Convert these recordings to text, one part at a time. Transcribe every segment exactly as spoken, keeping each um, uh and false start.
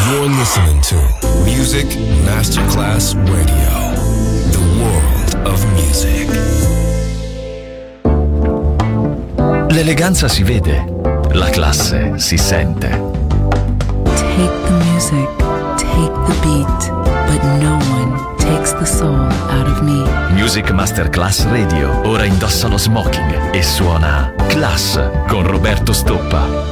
You're listening to Music Masterclass Radio, the world of music. L'eleganza si vede, la classe si sente. Take the music, take the beat, but no one takes the soul out of me. Music Masterclass Radio ora indossa lo smoking e suona Class con Roberto Stoppa.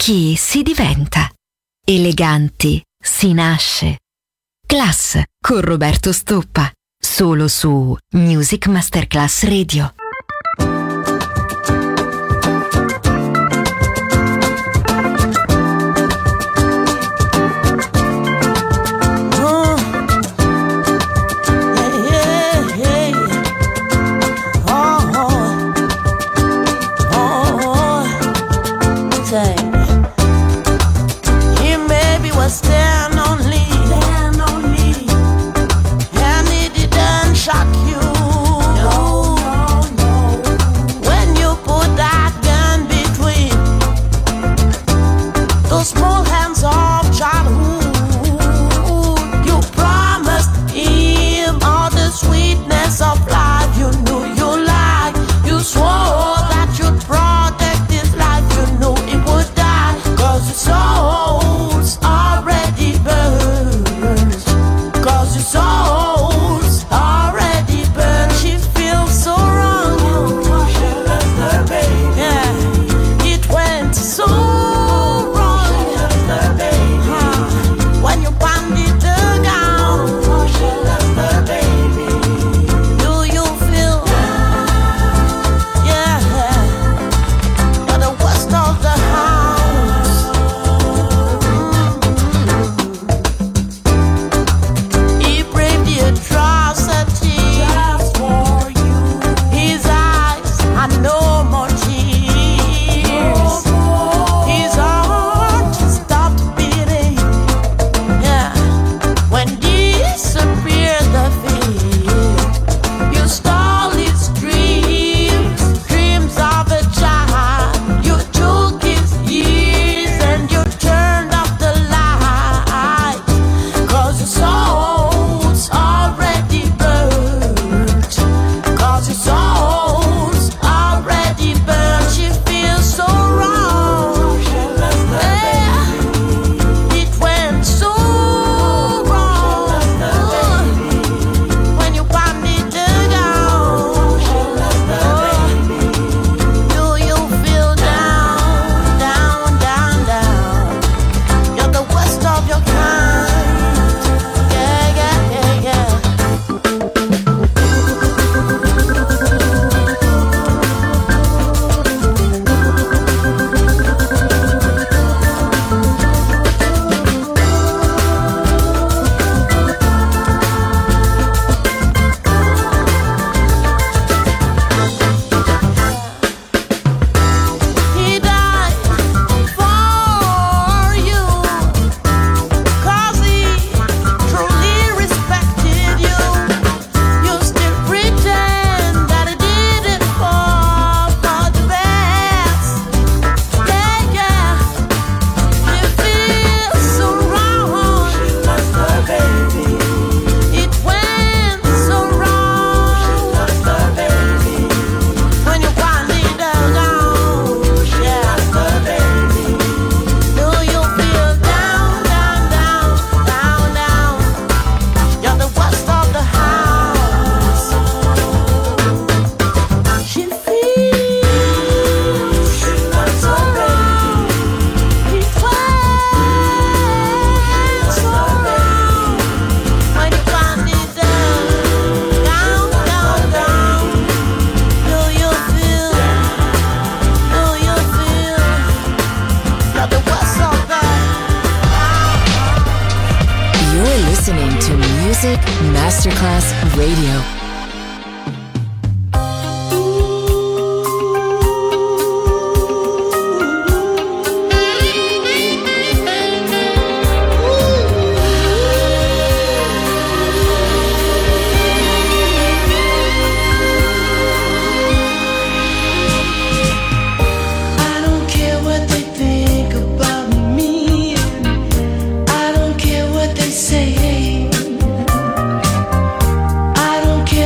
chi si diventa. Eleganti si nasce. Class con Roberto Stoppa, solo su Music Masterclass Radio. Stand on me, stand on me, and it didn't shock you. No, no, no. When you put that gun between those small hands of childhood, you promised him all the sweetness of life. You knew you liked, you swore that you'd protect his life. You knew he would die, 'cause your souls already burned, 'cause your soul's already burned. She feels so wrong. Yeah, it went so wrong. Huh. When you banded her down, do you feel? Yeah, you're the worst of the house. He braved the atrocity just for you. His eyes had no more tears. His heart stopped beating. Yeah, when disappeared the fear, you stole his dreams, dreams of a child. You took his years and you turned off the light, 'cause your soul's already burned, 'cause your soul's already burned. She feels so wrong. Yeah, it went so wrong. When you banded her down, do you feel down, down, down, down? You're the worst of your kind. Yeah, yeah, yeah, yeah. He died for you, 'cause he truly respected you. You still pretend that he did it for, for the best. Yeah, yeah. You feel so wrong. It went so wrong. When you banded her down, yeah. Do you feel down, down, down, down, down? You're the worst of the house. She feels so wrong. It went so wrong. When you banded down, down, down, down. Do you feel? Do you feel? You're the worst of the You're listening to Music Masterclass Radio. I don't care what they think about me. I don't care what they say. I don't care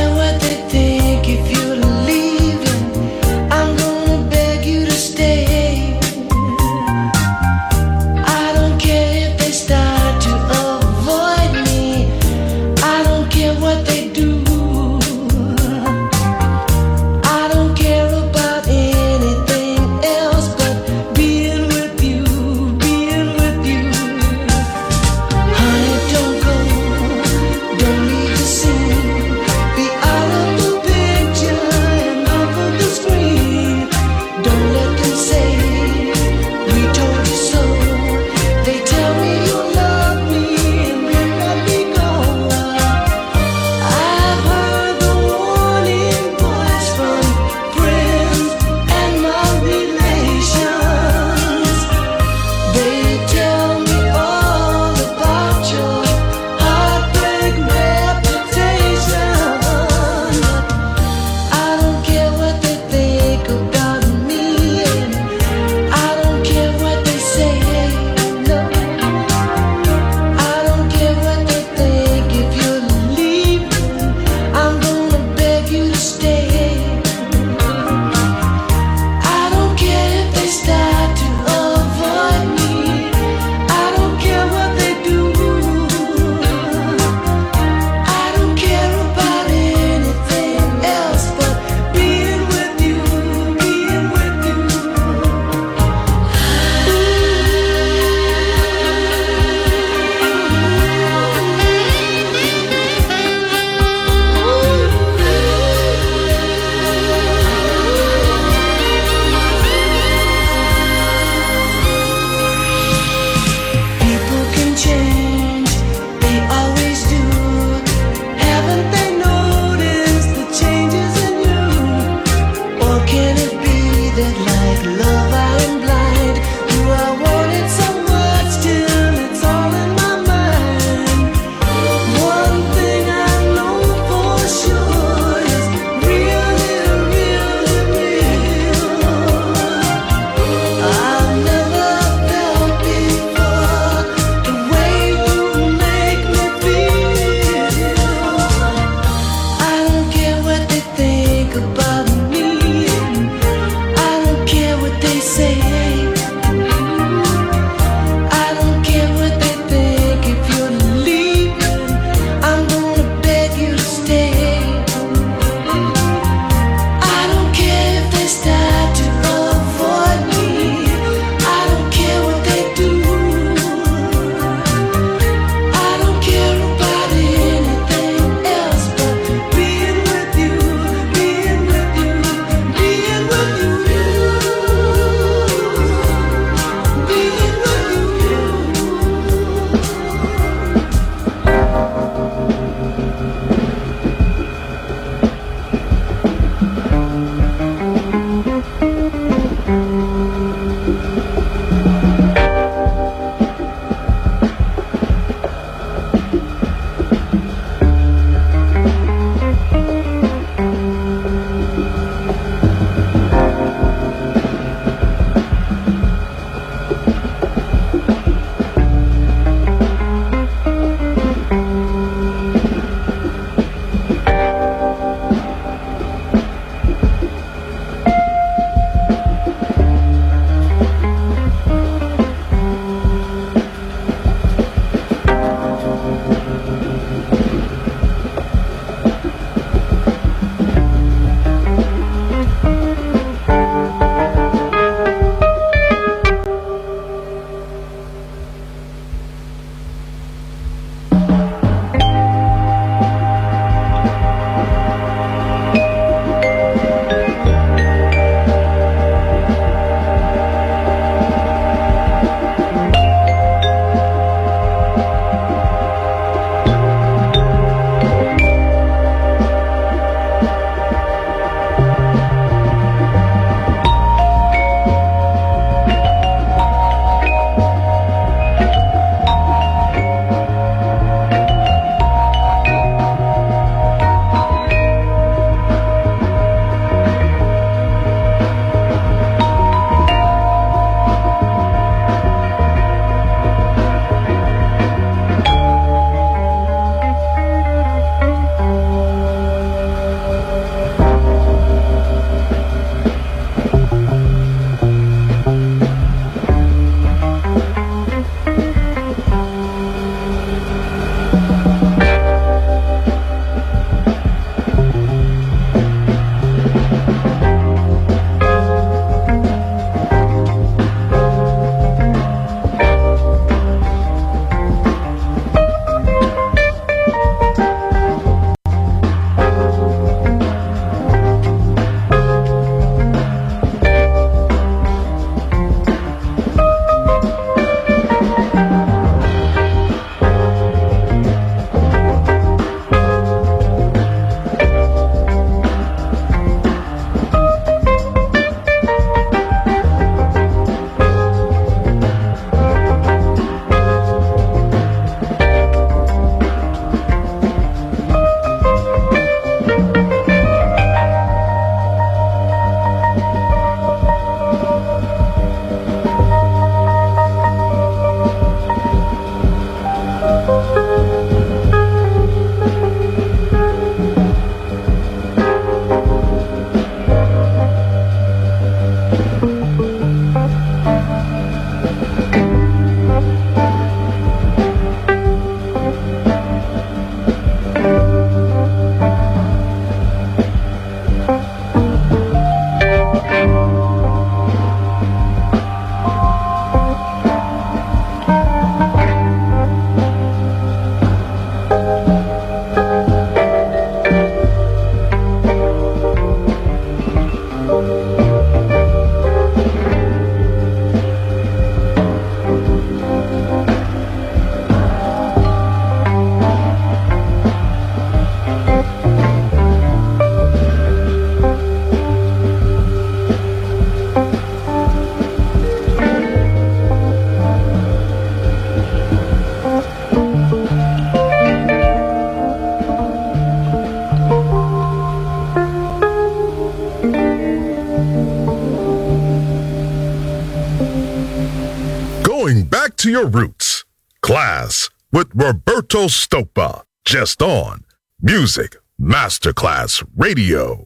to your roots. Class with Roberto Stoppa. Just on Music Masterclass Radio.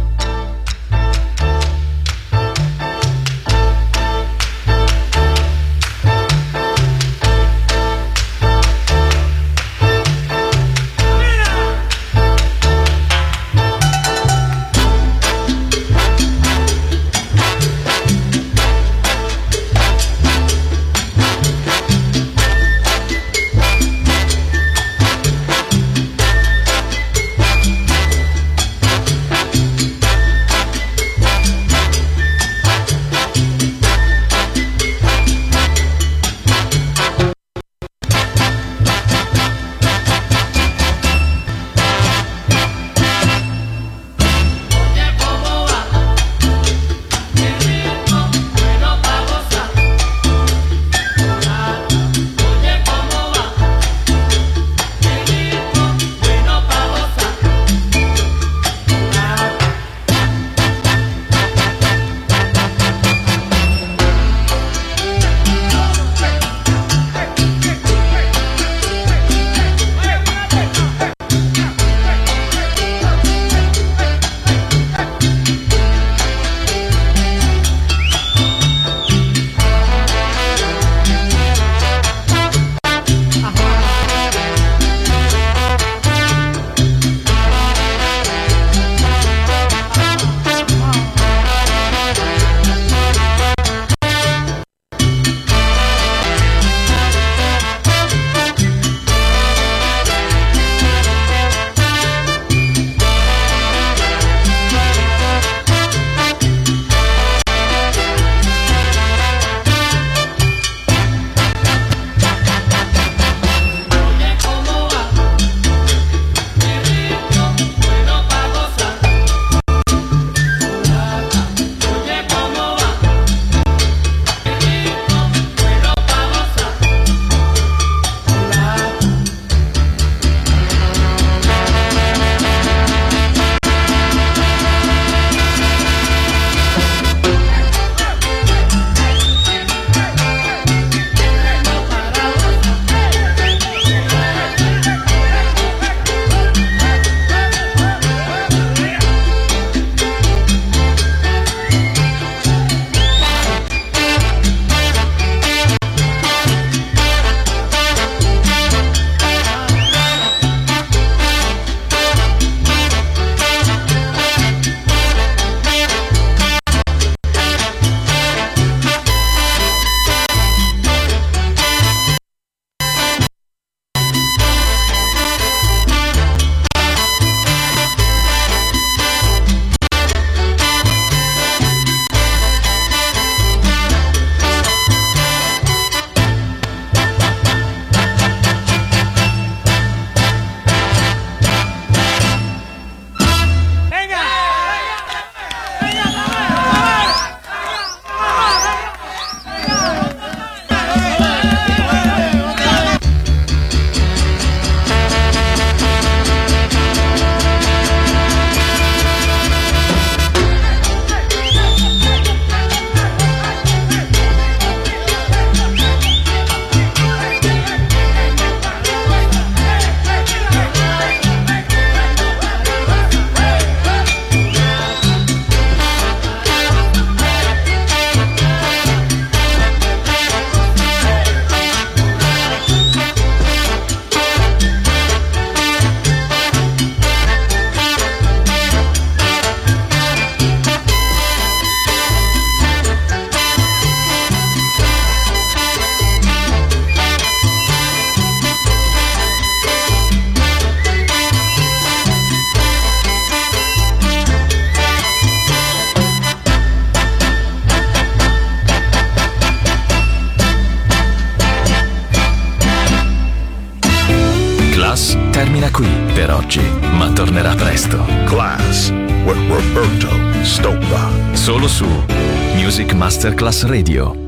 termina qui per oggi, ma tornerà presto. Class with Roberto Stoppa. Solo su Music Masterclass Radio.